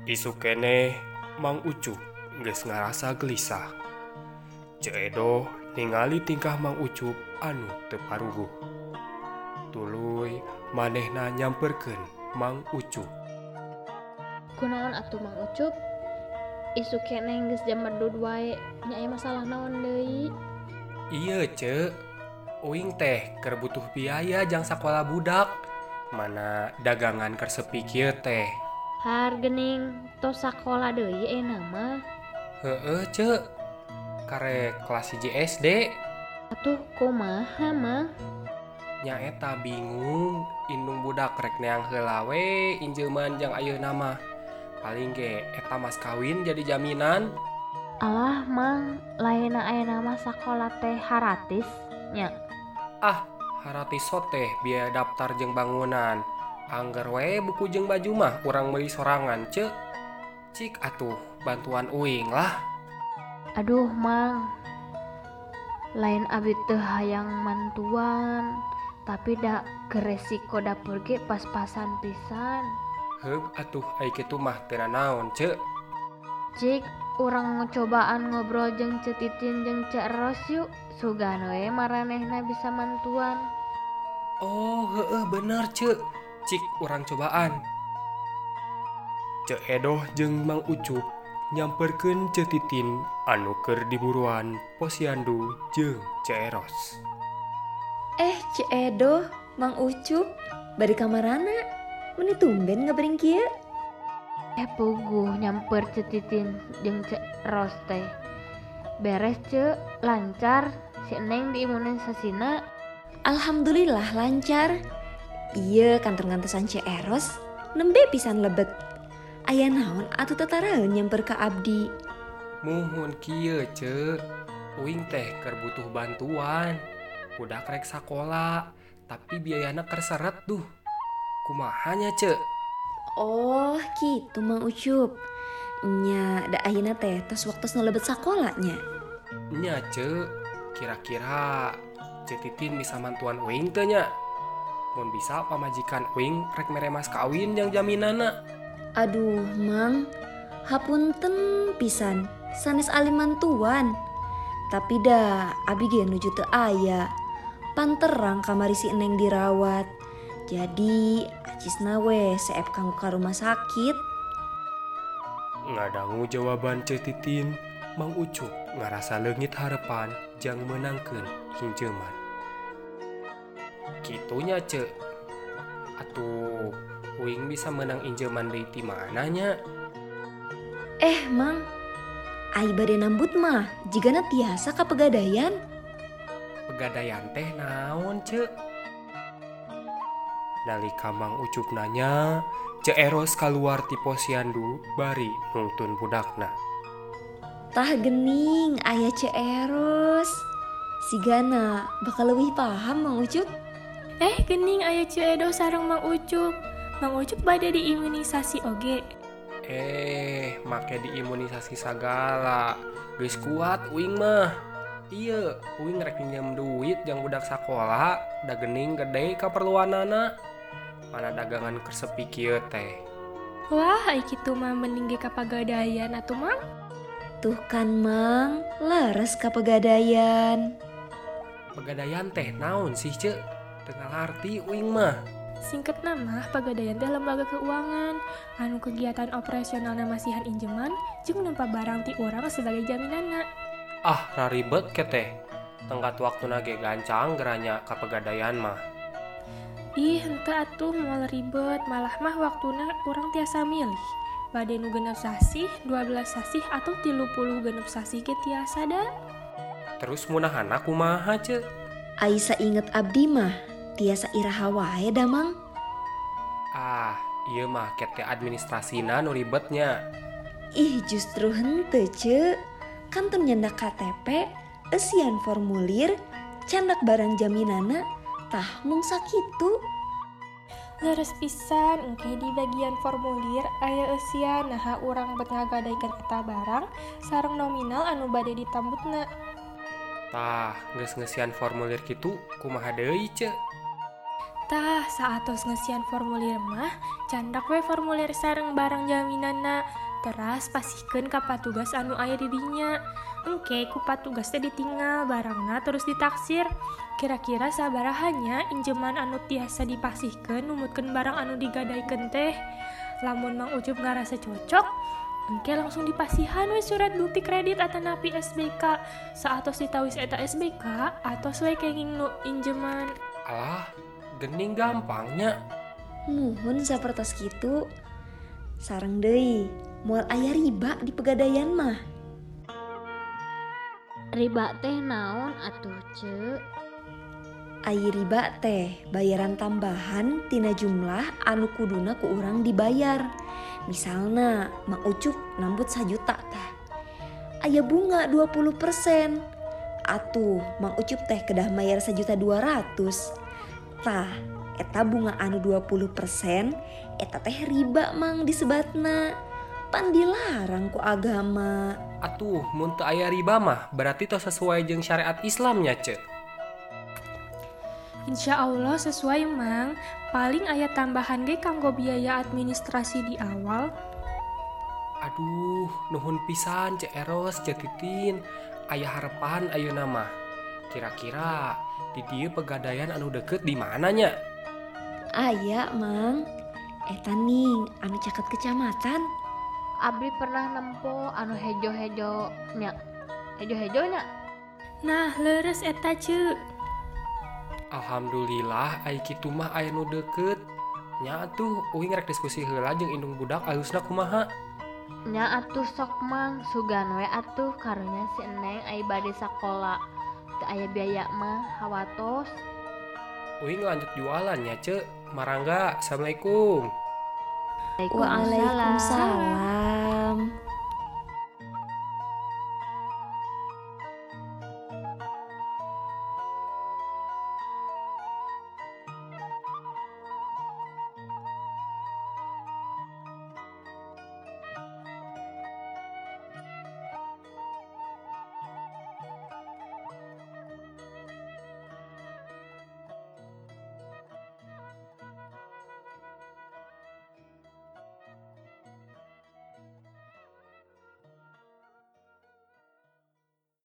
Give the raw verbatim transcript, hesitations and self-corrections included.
Isu keneh Mang Ucup geus ngarasa gelisah. Ceu Edo ningali tingkah Mang Ucup anu teu paruguh. Tuluy manehna nyamperkeun Mang Ucup. Kunaon atuh Mang Ucup? Isu keneh geus jam merdud wae, nya aya masalah naon deui? Ieu ceu, uing teh keur butuh biaya jang sakola budak. Mana dagangan keur sepi kieu teh. Har geuning tos sakola deui ena mah. Heueuh ceu, karek kelas hiji S D. Atuh kumaha mah? Nya eta bingung, indung budak rek neang heula we injeuman jang ayeuna mah. Paling ge eta mas kawin jadi jaminan. Alah Mang, laena aya nama sakola teh haratis nya. Ah, haratis teh biaya daftar jeung bangunan. Angger we buku jeung baju mah urang meuli sorangan ceu. Cik atuh bantuan uing lah. Aduh Mang, lain abdi teu hayang mantuan, tapi da geresiko dapur ge pas-pasan pisan. Heug atuh ai kitu mah teu naon ceu. Cik, urang ngocobaan ngobrol jeung Ceu Titin jeung Cek Eros yuk, sugan we maranehna bisa mantuan. Oh heeh bener ceu, cik urang cobaan. Cek Edo jeung Mang Ucup nyamperkeun Ceu Titin anu keur diburuan posyandu jeung Cek Eros. Eh Cek Edo, Mang Ucup, bari ka marana? Meni tumben ngabring kieu? Eh puguh nyamper Ceu Titin jeung Cek Eros teh. Beres Ceu, lancar, si Neng diimunisasina. Alhamdulillah lancar. Ieu kantor ngantosan Cek Eros nembe pisan lebet. Aya naon atuh tataraeun nyamper ka abdi? Muhun kieu ceu, uing teh keur butuh bantuan. Budak rek sakola, tapi biayana keur seret duh. Kumaha nya ceu? Oh gitu Mang Ucup. Nya da ayeuna teh tos waktos lebet sakolanya. Nya ceu, kira-kira Ceu Titin bisa mantuan uing teu nya? Mun bisa pamajikan uing rek mere mas kawin yang jaminana. Aduh Mang, hapunten pisan sanes alim mantuan. Tapi dah abi ge nuju teu aya. Panterang kamari si Neng dirawat. Jadi acisna we seep kanggo ka rumah sakit. Ngadangu jawaban Ceu Titin, Mang Ucup ngarasa leungit harepan jang meunangkeun hinjeuman. Kitunya ceu. Atuh, uing bisa menang injeuman deui ti mana nya? Eh Mang, ai bade nambut mah jigana tiasa ka Pegadaian. Pegadaian teh naon ceu? Nalika Mang Ucup nanya, Cek Eros kaluar ti posyandu bari nungtun budakna. Tah geuning aya Cek Eros. Sigana bakal leuwih paham Mang Ucup. Eh geuning aya Ceu Edo sareng Mang Ucup. Mang Ucup bade diimunisasi oge. Eh, make diimunisasi sagala. Geus kuat uing mah. Ieu, uing rek pinjem duit jang budak sakola, da geuning gede kaperluanana. Mana dagangan keur sepi kieu teh. Wah, ai kitu mah mending ge ka Pegadaian atuh Mang. Tuh kan Mang, leres ka Pegadaian. Pegadaian teh naon sih ceu? Teu ngarti uing mah. Singket nama Pegadaian teh lembaga keuangan anu kegiatan operasionalna masihan injeman jeung nempa barang ti urang sebagai jaminanna. Ah, raribet ke teh. Tenggat waktuna ge gancang geranya ka Pegadaian mah. Ih, henteu atuh moal ribet, malah mah waktuna urang tiasa milih. Bade nu genep sasih, dua belas sasih atau tilu puluh genep sasih ge tiasa da. Terus munahana kumaha ceu? Ai sainget abdi mah tiasa iraha wae da Mang. Ah, ieu mah kete administrasina nu ribetnya. Ih justru henteu Ceu. Kantor nyandak K T P, eusian formulir, candak barang jaminana, tah mung sakitu. Leres pisan, engke di bagian formulir aya eusian naha urang bet ngagadaykeun eta barang sareng nominal anu bade ditambutna. Tah, geus ngeusian formulir kitu kumaha deui ceu? Tah, saatos ngesian formulir mah, candak we formulir sareng barang jaminanna. Teras pasihkeun ka patugas anu aya di dinya. Engke ku patugas teh ditinggal barangna terus ditaksir. Kira-kira sabarahannya injeman anu tiasa dipasihkeun numutkeun barang anu digadaykeun teh. Lamun Mang Ucup ngarasa cocok, engke langsung dipasihan we surat bukti kredit atanapi S B K. Saatos ditawis eta S B K atos we kenging nu injeman. Alah, gening gampangnya. Nuhun sapertos kitu. Sareng deui, moal aya riba di pegadaian mah. Riba teh naon atuh ce? Ai riba teh bayaran tambahan tina jumlah anu kuduna ku urang dibayar. Misalna Mang Ucup nambut sajuta tah. Aya bunga dua puluh persen. Atuh Mang Ucup teh kedah mayar sajuta dua ratus. Tah, eta bunga anu dua puluh persen eta teh riba Mang disebatna. Pan dilarang ku agama. Atuh, mun teu aya riba mah berarti tos sesuai jeung syariat Islamnya, Ce. Insya Allah sesuai Mang, paling aya tambahan ge kanggo biaya administrasi di awal. Aduh, nuhun pisan Ce Eros, Ce Titin. Aya harapan ayeuna mah. Kira-kira di dieu pegadaian anu deket di mana nya? Aya Mang. Eta ning anu caket kecamatan. Abdi pernah nempo anu hejo-hejo nya. Hejo-hejo nya. Nah, leres eta ce. Alhamdulillah ai kitu mah aya nu deket. Nya atuh uing rek diskusi heula jeung indung budak alusna kumaha. Nya atuh sok Mang, sugan we atuh karunya si Eneng ai bade sakola. Teu aya biaya mah hawatos. Uing lanjut jualan nya, Ce. Marangga, assalamualaikum. Waalaikumsalam.